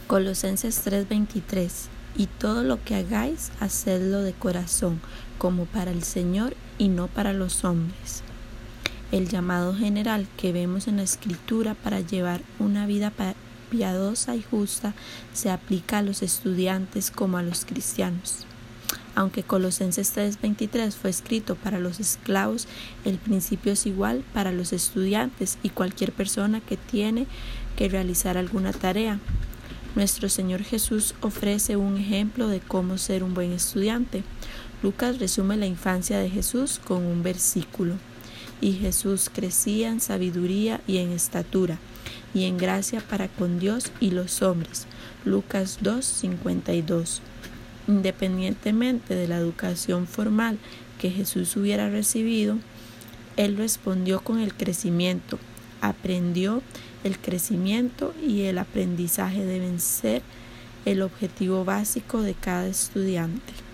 Colosenses 3:23. Y todo lo que hagáis, hacedlo de corazón, como para el Señor y no para los hombres. El llamado general que vemos en la Escritura para llevar una vida piadosa y justa se aplica a los estudiantes como a los cristianos. Aunque Colosenses 3:23 fue escrito para los esclavos, el principio es igual para los estudiantes y cualquier persona que tiene que realizar alguna tarea. Nuestro Señor Jesús ofrece un ejemplo de cómo ser un buen estudiante. Lucas resume la infancia de Jesús con un versículo. Y Jesús crecía en sabiduría y en estatura, y en gracia para con Dios y los hombres. Lucas 2:52. Independientemente de la educación formal que Jesús hubiera recibido, Él respondió con el crecimiento. Aprendió. El crecimiento y el aprendizaje deben ser el objetivo básico de cada estudiante.